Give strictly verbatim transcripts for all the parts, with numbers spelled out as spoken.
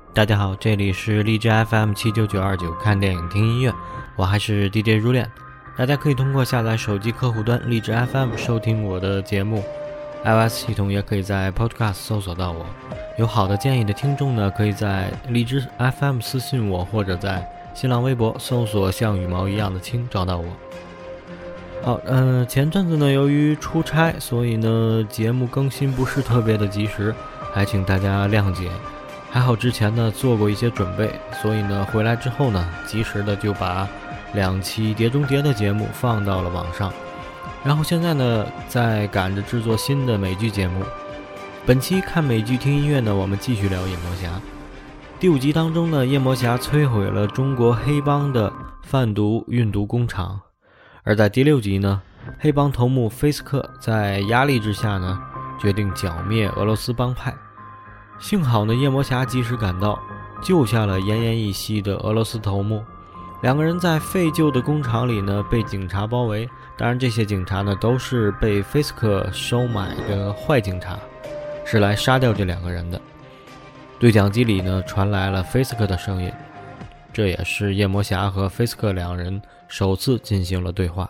大家好，这里是荔枝 F M 七九九二九，看电影听音乐，我还是 D J 如恋。大家可以通过下载手机客户端荔枝 F M 收听我的节目， iOS 系统也可以在 Podcast 搜索到我。有好的建议的听众呢，可以在荔枝 F M 私信我，或者在新浪微博搜索像羽毛一样的青找到我。好，嗯、呃，前阵子呢，由于出差，所以呢节目更新不是特别的及时，还请大家谅解。还好之前呢做过一些准备，所以呢回来之后呢，及时的就把两期碟中谍的节目放到了网上。然后现在呢在赶着制作新的美剧节目。本期看美剧听音乐呢，我们继续聊夜魔侠。第五集当中呢，夜魔侠摧毁了中国黑帮的贩毒运毒工厂。而在第六集呢，黑帮头目菲斯克在压力之下呢，决定剿灭俄罗斯帮派。幸好呢，夜魔侠及时赶到，救下了奄奄一息的俄罗斯头目。两个人在废旧的工厂里呢，被警察包围。当然，这些警察呢，都是被菲斯克收买的坏警察，是来杀掉这两个人的。对讲机里呢，传来了菲斯克的声音，这也是夜魔侠和菲斯克两人首次进行了对话。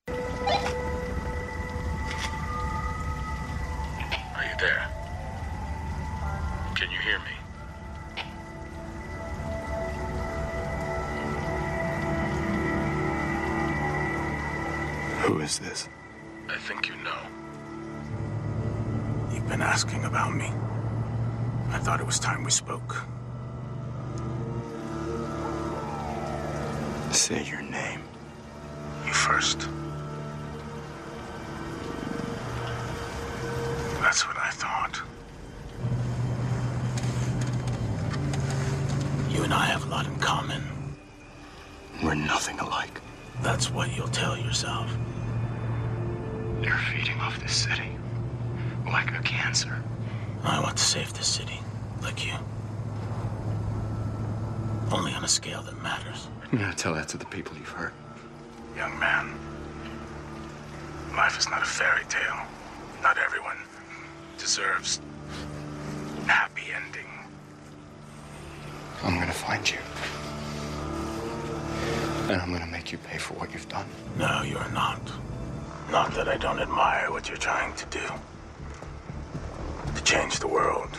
Who is this? I think you know. You've been asking about me. I thought it was time we spoke. Say your name. You first. That's what I thought. You and I have a lot in common. We're nothing alike. That's what you'll tell yourself. You're feeding off this city like a cancer. I want to save this city, like you. Only on a scale that matters. You're gonna tell that to the people you've hurt. Young man, life is not a fairy tale. Not everyone deserves a happy ending. I'm gonna find you. And I'm gonna make you pay for what you've done. No, you're not. Not that I don't admire what you're trying to do. To change the world.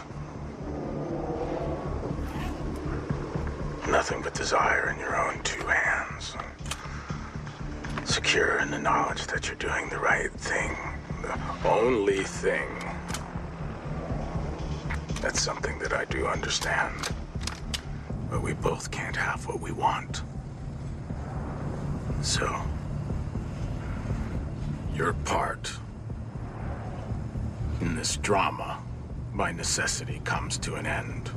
Nothing but desire in your own two hands. Secure in the knowledge that you're doing the right thing. The only thing. That's something that I do understand. But we both can't have what we want. So, your part in this drama, by necessity, comes to an end.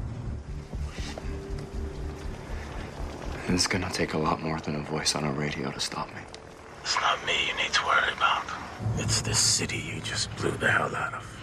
It's gonna take a lot more than a voice on a radio to stop me. It's not me you need to worry about. It's this city you just blew the hell out of.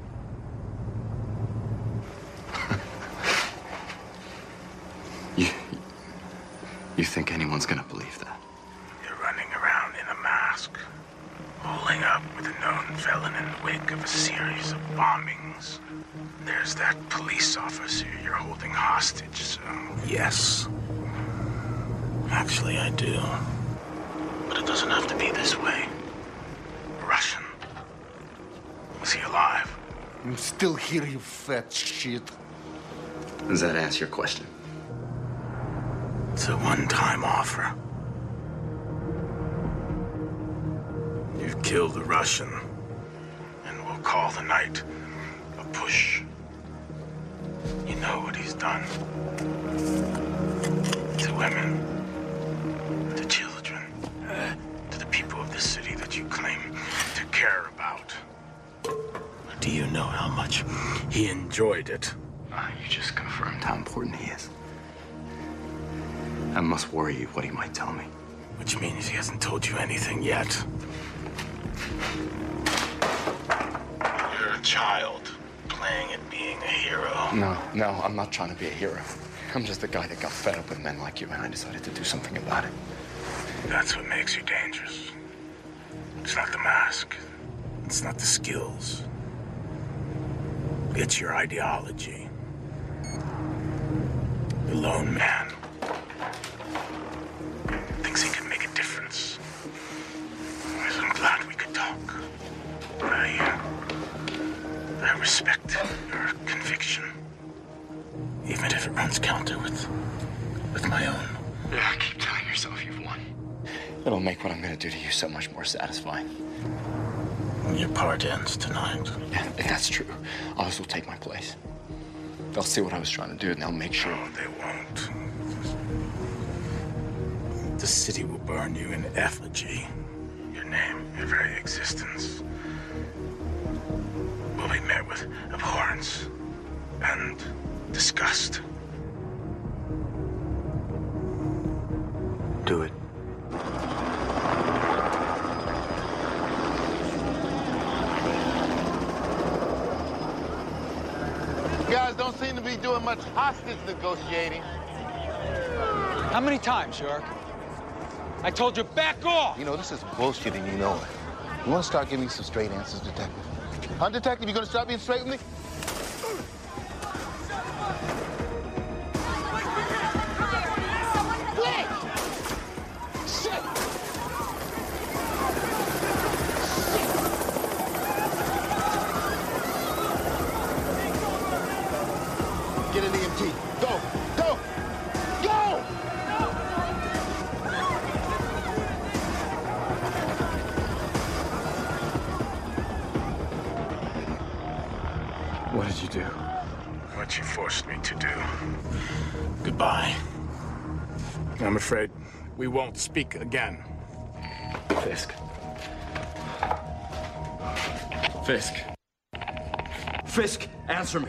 you, you think anyone's gonna believe that? Running around in a mask, holding up with a known felon in the wake of a series of bombings. There's that police officer you're holding hostage, so yes. Actually, I do. But it doesn't have to be this way. Russian. Was he alive? I'm still here, you fat shit. Does that answer your question? It's a one-time offer. You've killed a Russian, and we'll call the night a push. You know what he's done to women, to children, to the people of this city that you claim to care about. Do you know how much he enjoyed it? Uh, you just confirmed how important he is. That must worry you, what he might tell me. Which means he hasn't told you anything yet. You're a child playing at being a hero. No, no, I'm not trying to be a hero. I'm just a guy that got fed up with men like you, and I decided to do something about it. That's what makes you dangerous. It's not the mask. It's not the skills. It's your ideology. The lone man. Thinks he can make a difference. I'm glad we could talk. I, uh, I respect your conviction. Even if it runs counter with, with my own. Yeah, keep telling yourself you've won. It'll make what I'm gonna do to you so much more satisfying. Your part ends tonight. Yeah, if that's true, others will take my place. They'll see what I was trying to do, and they'll make sure. No, they won't. The city will burn you in effigy. Your name, your very existence, will be met with abhorrence and disgust. Do it. You guys don't seem to be doing much hostage negotiating. How many times, York? I told you, back off! You know, this is bullshit and you know it. You want to start giving me some straight answers, Detective? Huh, Detective? You gonna start being straight with me? Get an E M T. Go! Go! Go! What did you do? What you forced me to do. Goodbye. I'm afraid we won't speak again. Fisk. Fisk. Fisk, answer me.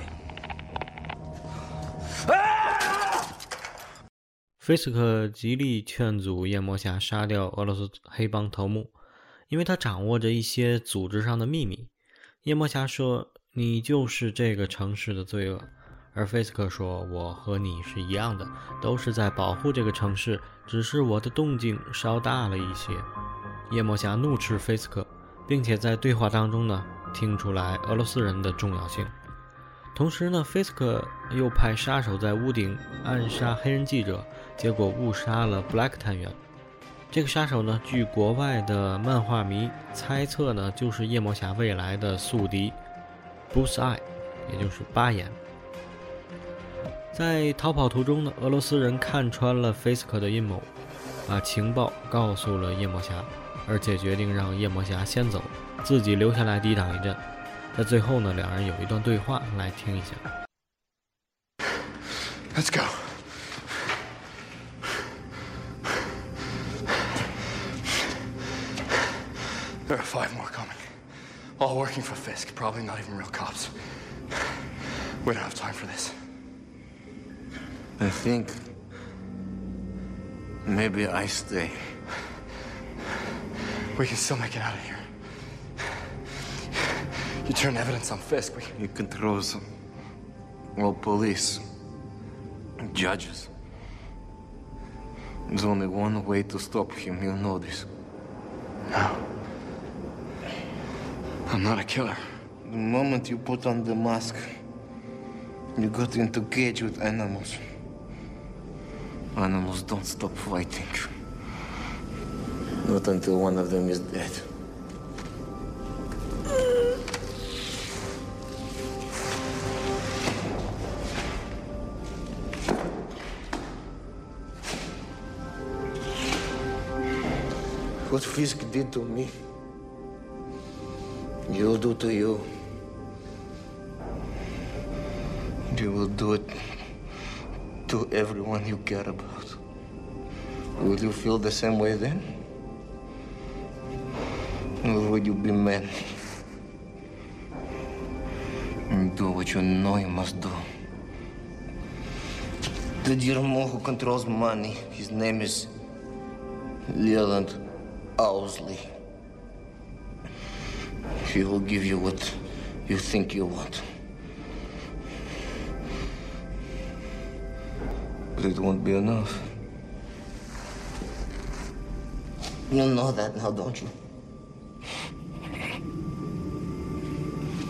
菲斯克极力劝阻夜魔侠杀掉俄罗斯黑帮头目，因为他掌握着一些组织上的秘密。夜魔侠说：“你就是这个城市的罪恶。”而菲斯克说：“我和你是一样的，都是在保护这个城市，只是我的动静稍大了一些。”夜魔侠怒斥菲斯克，并且在对话当中呢，听出来俄罗斯人的重要性。同时呢，菲斯克又派杀手在屋顶暗杀黑人记者，结果误杀了 Black 探员。这个杀手呢，据国外的漫画迷猜测呢，就是夜魔侠未来的宿敌 Bruce Eye， 也就是巴眼。在逃跑途中呢，俄罗斯人看穿了菲斯克的阴谋，把情报告诉了夜魔侠，而且决定让夜魔侠先走，自己留下来抵挡一阵。在最后呢，两人有一段对话，来听一下。 Let's go. There are five more coming. All working for Fisk, probably not even real cops. We don't have time for this. I think maybe I stay. We can still make it out of here. You turn evidence on Fisk, we... He controls all police, judges. There's only one way to stop him, you know this. No. I'm not a killer. The moment you put on the mask, you got into cage with animals. Animals don't stop fighting. Not until one of them is dead. What Fisk did to me, you'll do to you. You will do it to everyone you care about. Will you feel the same way then? Or will you be men and do what you know you must do? The Dirmo who controls money, his name is Leland Owsley. He will give you what you think you want. But it won't be enough. You know that now, don't you?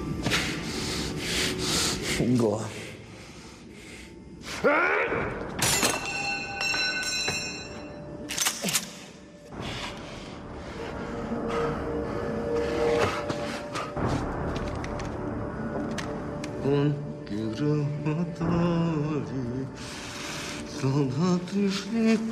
Go on.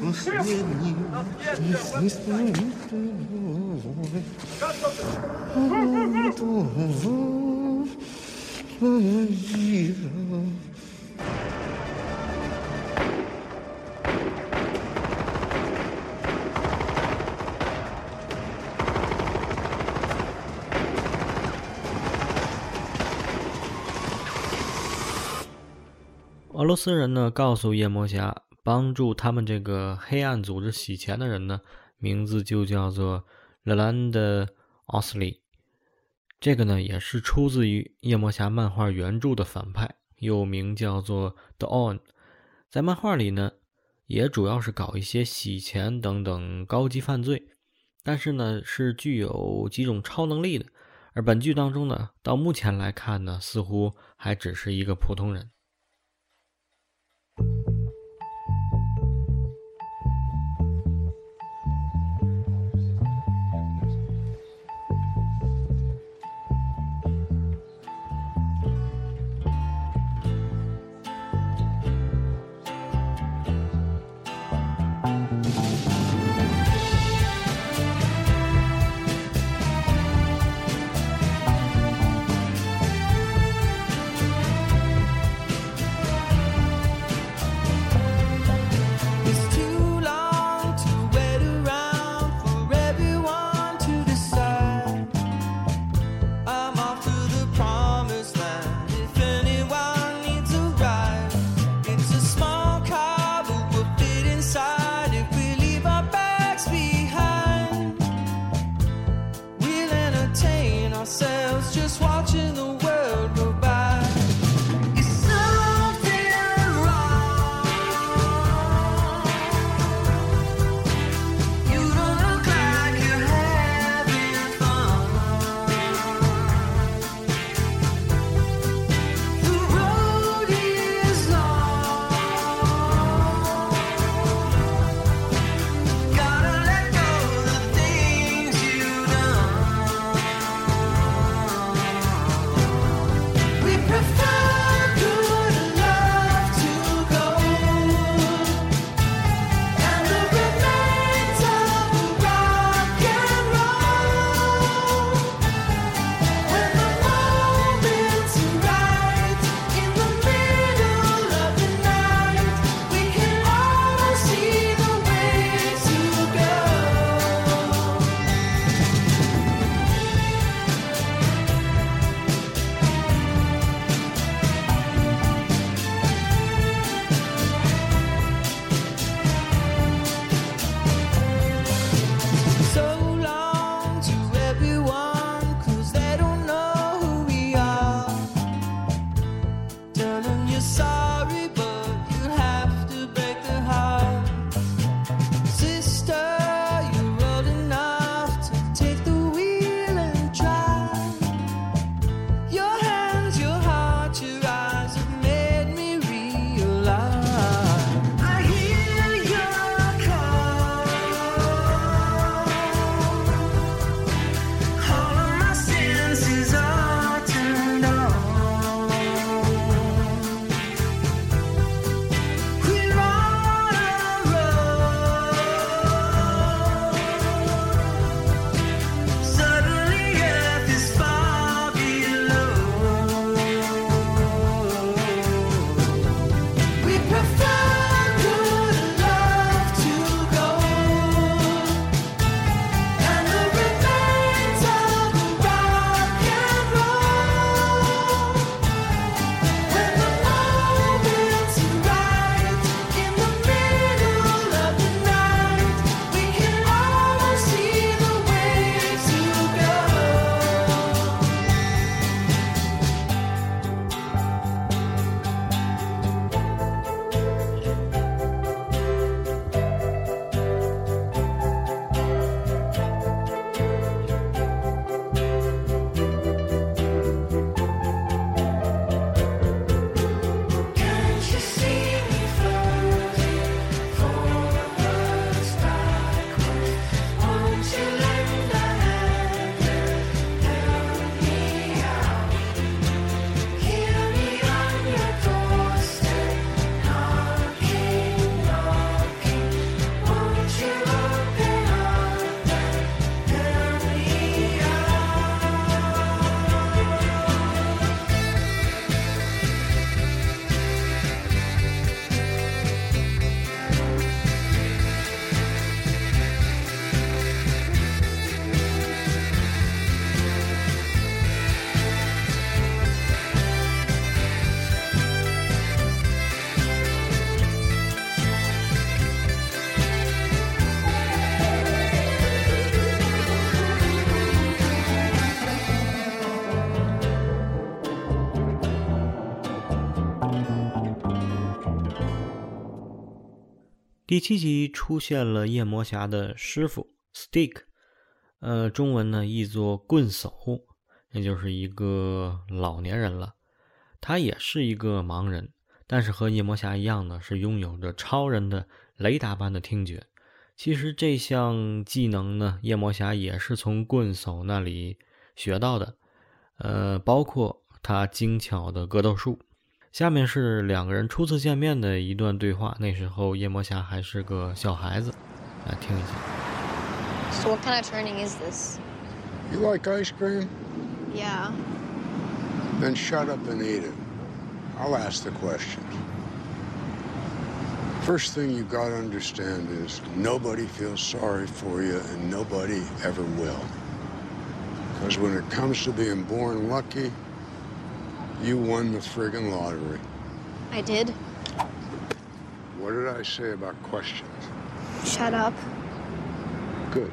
俄罗斯人呢告诉夜魔侠，帮助他们这个黑暗组织洗钱的人呢，名字就叫做 Leland Osley。这个呢也是出自于夜魔侠漫画原著的反派，又名叫做 Dawn。在漫画里呢，也主要是搞一些洗钱等等高级犯罪，但是呢是具有几种超能力的。而本剧当中呢，到目前来看呢，似乎还只是一个普通人。 第七集出现了夜魔侠的师傅 Stick， 呃，中文呢译作棍手，也就是一个老年人了。他也是一个盲人，但是和夜魔侠一样呢，是拥有着超人的雷达般的听觉。其实这项技能呢，夜魔侠也是从棍手那里学到的，呃，包括他精巧的格斗术。下面是两个人初次见面的一段对话，那时候夜魔侠还是个小孩子，来听一下。 So what kind of training is this? You like ice cream? Yeah. Then shut up and eat it. I'll ask the questions. First thing you gotta understand is nobody feels sorry for you and nobody ever will. Because when it comes to being born lucky, you won the friggin' lottery. I did? What did I say about questions? Shut up. Good.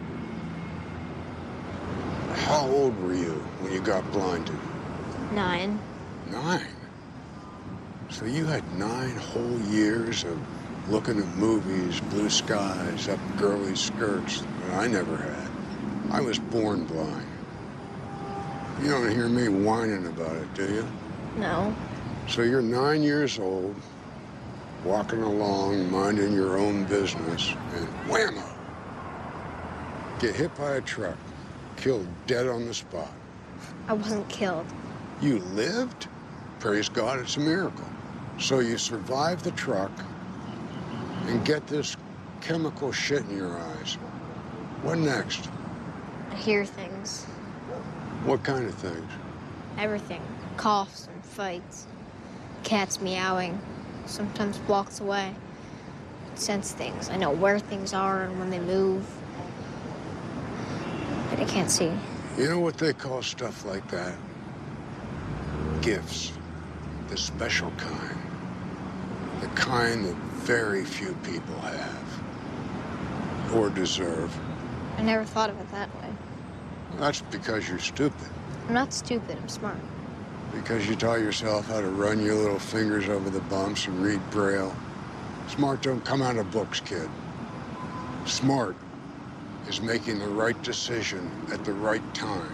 How old were you when you got blinded? Nine. Nine? So you had nine whole years of looking at movies, blue skies, up girly skirts that I never had. I was born blind. You don't hear me whining about it, do you? No. So you're nine years old, walking along, minding your own business, and whammo! Get hit by a truck, killed dead on the spot. I wasn't killed. You lived? Praise God, it's a miracle. So you survived the truck and get this chemical shit in your eyes. What next? I hear things. What kind of things? Everything. Coughs and fights. Cats meowing. Sometimes walks away. I sense things. I know where things are and when they move. But I can't see. You know what they call stuff like that? Gifts. The special kind. The kind that very few people have. Or deserve. I never thought of it that way. That's because you're stupid. I'm not stupid. I'm smart. Because you taught yourself how to run your little fingers over the bumps and read Braille. Smart don't come out of books, kid. Smart is making the right decision at the right time.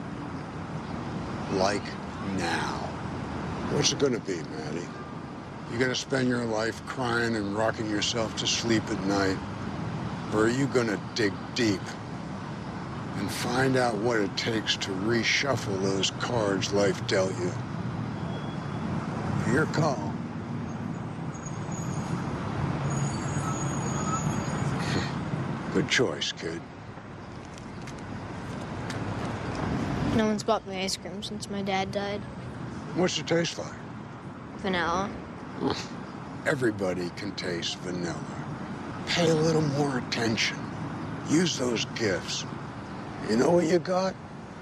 Like now. What's it gonna be, Maddie? You gonna spend your life crying and rocking yourself to sleep at night? Or are you gonna dig deep and find out what it takes to reshuffle those cards life dealt you? Your call. Good choice, kid. No one's bought me ice cream since my dad died. What's it taste like? Vanilla. Everybody can taste vanilla. Pay a little more attention. Use those gifts. You know what you got?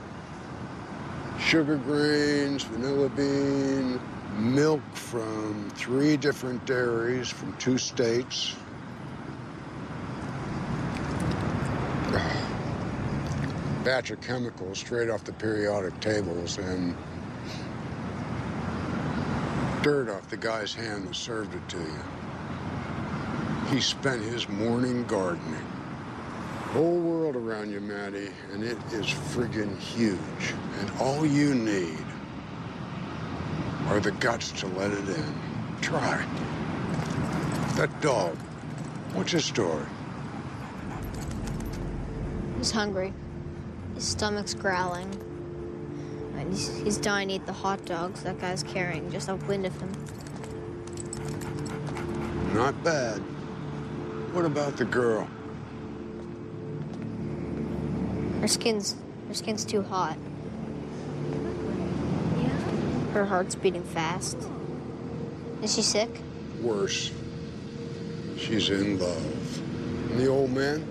Sugar grains, vanilla bean, milk from three different dairies from two states. Batch of chemicals straight off the periodic tables and dirt off the guy's hand that served it to you. He spent his morning gardening. Whole world around you, Maddie, and it is friggin' huge. And all you need are the guts to let it in. Try. That dog, what's his story? He's hungry. His stomach's growling. And he's, he's dying to eat the hot dogs that guy's carrying just upwind of him. Not bad. What about the girl? Her skin's her skin's too hot. Her heart's beating fast. Is she sick? Worse. She's in love. And the old man?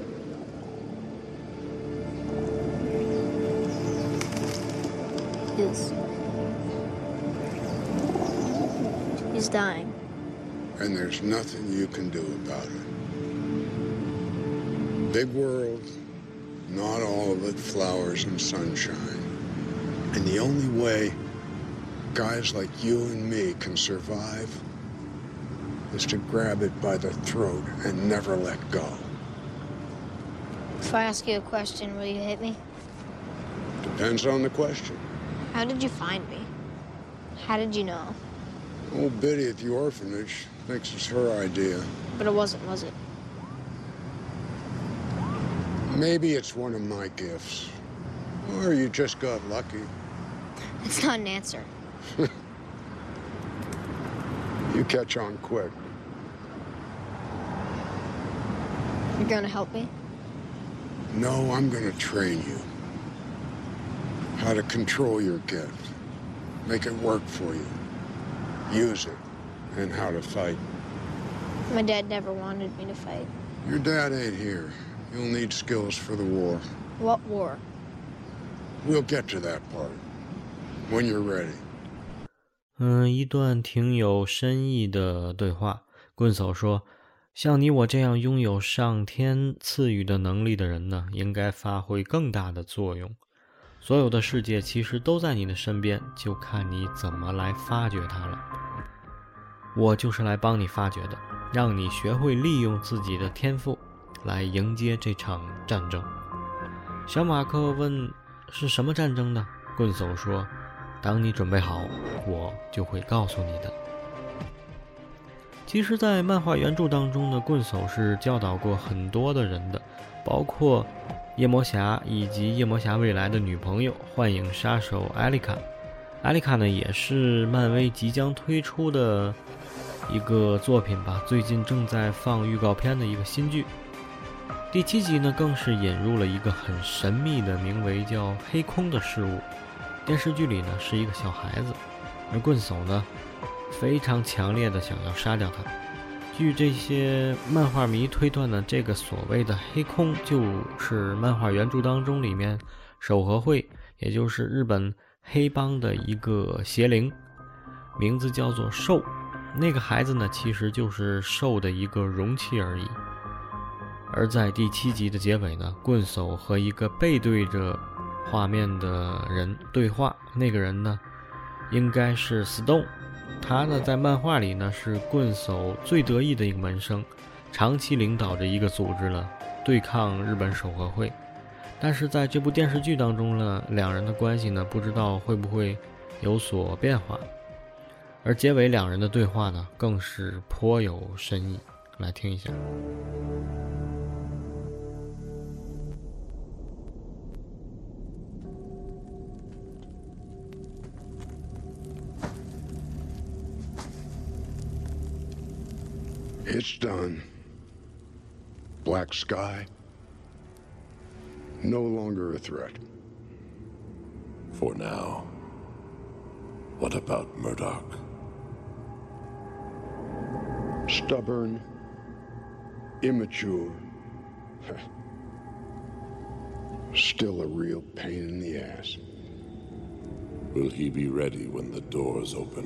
He's... He's dying. And there's nothing you can do about it. Big world, not all of it flowers and sunshine. And the only way guys like you and me can survive is to grab it by the throat and never let go. If I ask you a question, will you hit me? Depends on the question. How did you find me? How did you know? Old Biddy at the orphanage thinks it's her idea. But it wasn't, was it? Maybe it's one of my gifts. Or you just got lucky. That's not an answer. You catch on quick. You're gonna help me? No, I'm gonna train you. How to control your gift. Make it work for you. Use it. And how to fight. My dad never wanted me to fight. Your dad ain't here. You'll need skills for the war. What war? We'll get to that part. When you're ready. 嗯，一段挺有深意的对话。棍手说，像你我这样拥有上天赐予的能力的人呢，应该发挥更大的作用。所有的世界其实都在你的身边，就看你怎么来发掘它了。我就是来帮你发掘的，让你学会利用自己的天赋来迎接这场战争。小马克问，是什么战争呢？棍手说，当你准备好，我就会告诉你的。其实在漫画原著当中呢，棍手是教导过很多的人的，包括夜魔侠以及夜魔侠未来的女朋友幻影杀手艾丽卡。艾丽卡呢也是漫威即将推出的一个作品吧，最近正在放预告片的一个新剧。第七集呢更是引入了一个很神秘的名为叫黑空的事物，电视剧里呢是一个小孩子，而棍手呢非常强烈的想要杀掉他。据这些漫画迷推断呢，这个所谓的黑空就是漫画原著当中里面守和会，也就是日本黑帮的一个邪灵，名字叫做兽。那个孩子呢其实就是兽的一个容器而已。而在第七集的结尾呢，棍手和一个背对着画面的人对话，那个人呢应该是 Stone， 他呢在漫画里呢是棍手最得意的一个门生，长期领导着一个组织呢对抗日本守和会。但是在这部电视剧当中呢，两人的关系呢不知道会不会有所变化。而结尾两人的对话呢更是颇有深意，来听一下。 It's done. Black Sky, no longer a threat. For now. What about Murdoch? Stubborn, immature, still a real pain in the ass. Will he be ready when the doors open?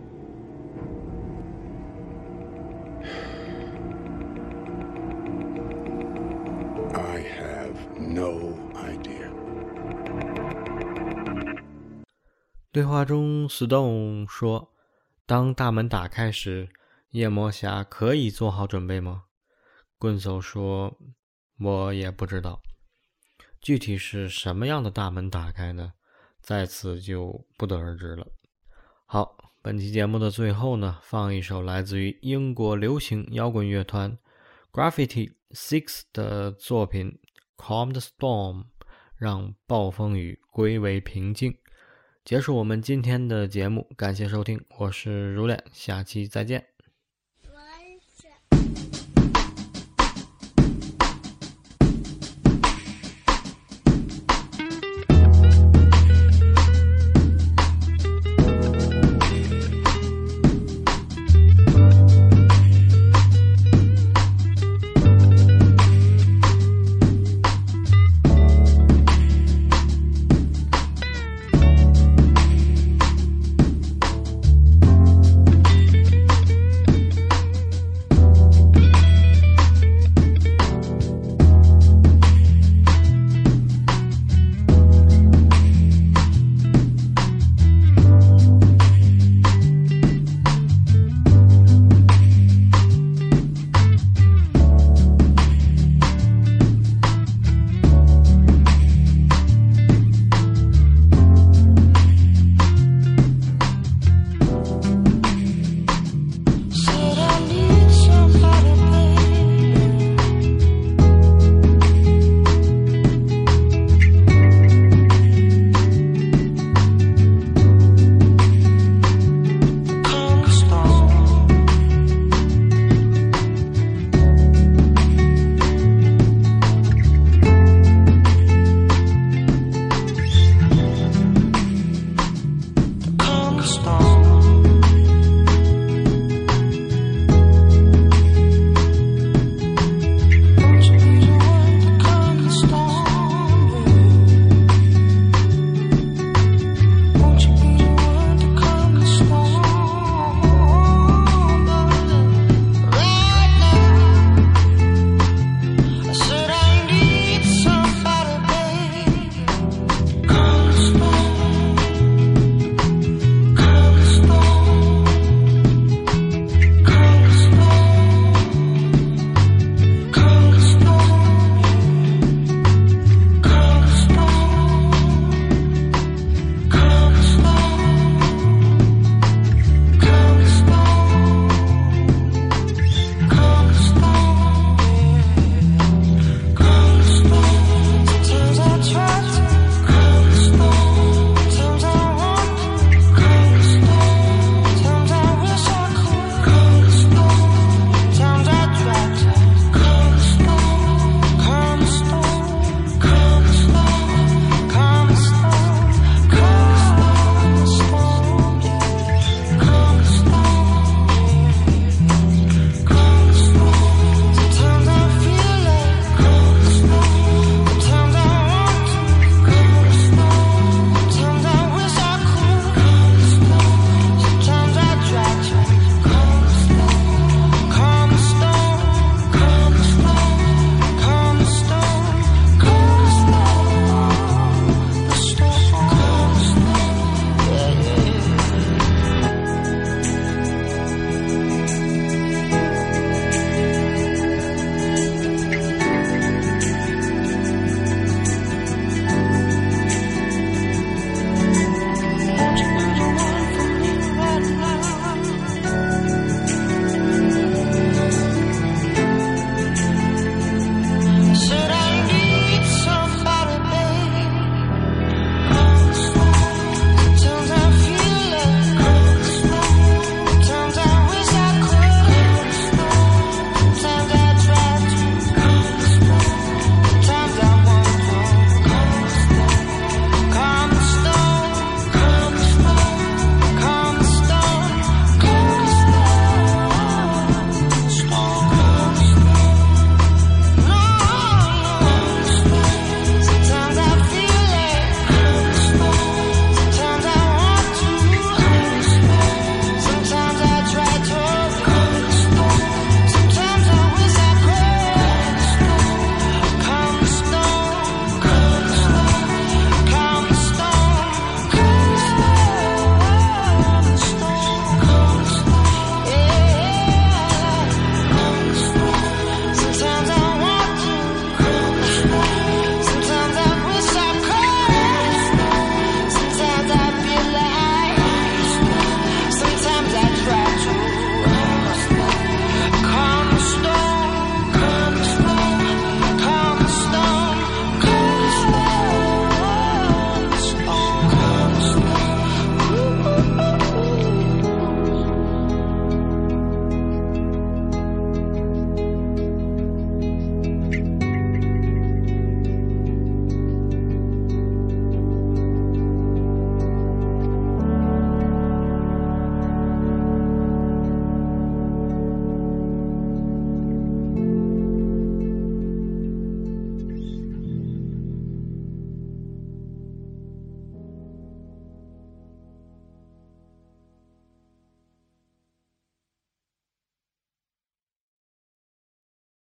I have no idea. 对话中 Stone 说，当大门打开时，夜魔侠可以做好准备吗？棍手说，我也不知道。具体是什么样的大门打开呢？在此就不得而知了。好，本期节目的最后呢，放一首来自于英国流行摇滚乐团 Graffiti Six 的作品 Calm the Storm， 让暴风雨归为平静。结束我们今天的节目，感谢收听，我是如恋，下期再见。